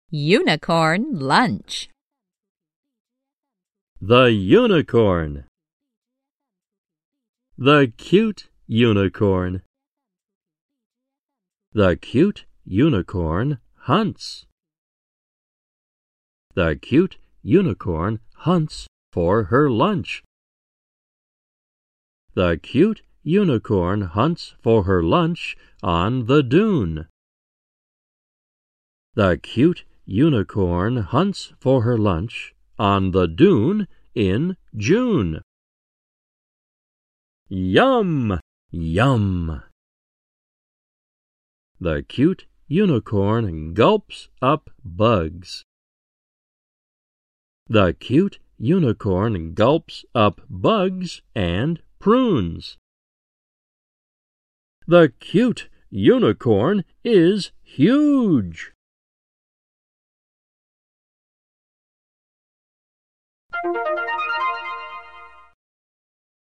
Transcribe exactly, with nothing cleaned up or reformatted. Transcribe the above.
Unicorn lunch. The unicorn. The cute unicorn. The cute unicorn hunts. The cute unicorn hunts for her lunch. The cute unicorn hunts for her lunch on the dune. The cute unicorn hunts for her lunch on the dune in June. Yum! Yum! The cute unicorn gulps up bugs. The cute unicorn gulps up bugs and prunes. The cute unicorn is huge.